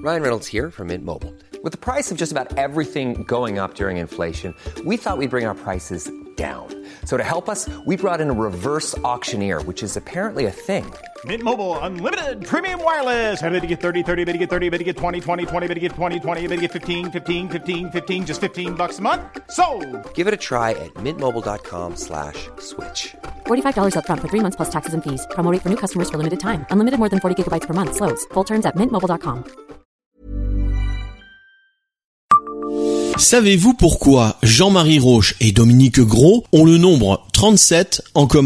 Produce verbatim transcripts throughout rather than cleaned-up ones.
Ryan Reynolds here from Mint Mobile. With the price of just about everything going up during inflation, we thought we'd bring our prices down. So to help us, we brought in a reverse auctioneer, which is apparently a thing. Mint Mobile Unlimited Premium Wireless. How to get thirty, thirty, how to get thirty, how to get twenty, twenty, twenty, how to get twenty, twenty, how to get fifteen, fifteen, fifteen, fifteen, just fifteen bucks a month? Sold! Give it a try at mintmobile.com slash switch. forty-five dollars up front for three months plus taxes and fees. Promo rate for new customers for limited time. Unlimited more than forty gigabytes per month. Slows full terms at mint mobile dot com. Savez-vous pourquoi Jean-Marie Roche et Dominique Gros ont le nombre trente-sept en commun ?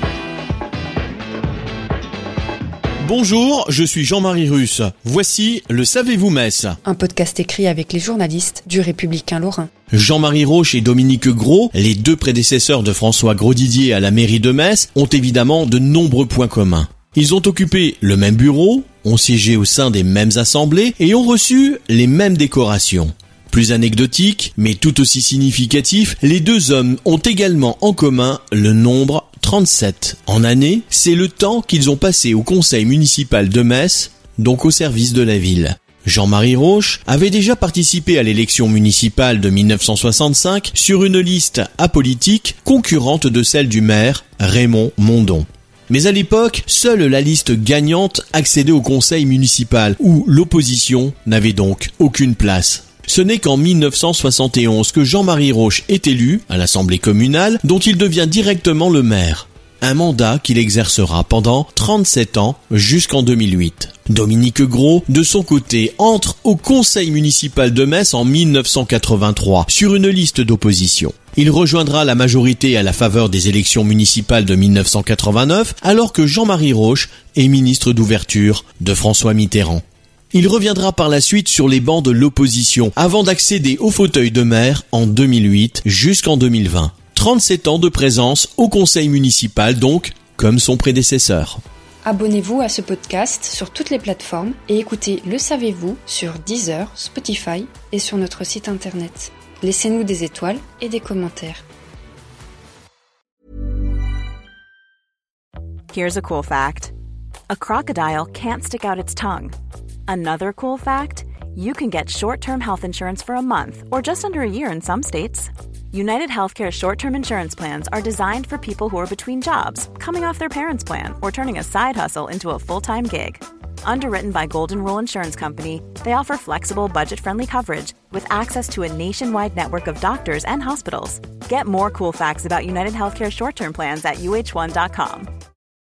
Bonjour, je suis Jean-Marie Russe. Voici le Savez-vous Metz ? Un podcast écrit avec les journalistes du Républicain Lorrain. Jean-Marie Roche et Dominique Gros, les deux prédécesseurs de François Grosdidier à la mairie de Metz, ont évidemment de nombreux points communs. Ils ont occupé le même bureau, ont siégé au sein des mêmes assemblées et ont reçu les mêmes décorations. Plus anecdotique, mais tout aussi significatif, les deux hommes ont également en commun le nombre trente-sept. En année, c'est le temps qu'ils ont passé au conseil municipal de Metz, donc au service de la ville. Jean-Marie Roche avait déjà participé à l'élection municipale de dix-neuf cent soixante-cinq sur une liste apolitique concurrente de celle du maire Raymond Mondon. Mais à l'époque, seule la liste gagnante accédait au conseil municipal, où l'opposition n'avait donc aucune place. Ce n'est qu'en dix-neuf cent soixante et onze que Jean-Marie Roche est élu à l'Assemblée communale, dont il devient directement le maire. Un mandat qu'il exercera pendant trente-sept ans jusqu'en deux mille huit. Dominique Gros, de son côté, entre au conseil municipal de Metz en dix-neuf cent quatre-vingt-trois sur une liste d'opposition. Il rejoindra la majorité à la faveur des élections municipales de dix-neuf cent quatre-vingt-neuf, alors que Jean-Marie Roche est ministre d'ouverture de François Mitterrand. Il reviendra par la suite sur les bancs de l'opposition avant d'accéder au fauteuil de maire en deux mille huit jusqu'en deux mille vingt. trente-sept ans de présence au conseil municipal donc, comme son prédécesseur. Abonnez-vous à ce podcast sur toutes les plateformes et écoutez Le Savez-vous sur Deezer, Spotify et sur notre site internet. Laissez-nous des étoiles et des commentaires. Here's a cool fact. A crocodile can't stick out its tongue. Another cool fact, you can get short-term health insurance for a month or just under a year in some states. United Healthcare short-term insurance plans are designed for people who are between jobs, coming off their parents' plan, or turning a side hustle into a full-time gig. Underwritten by Golden Rule Insurance Company, they offer flexible, budget-friendly coverage with access to a nationwide network of doctors and hospitals. Get more cool facts about United Healthcare short-term plans at U H one dot com.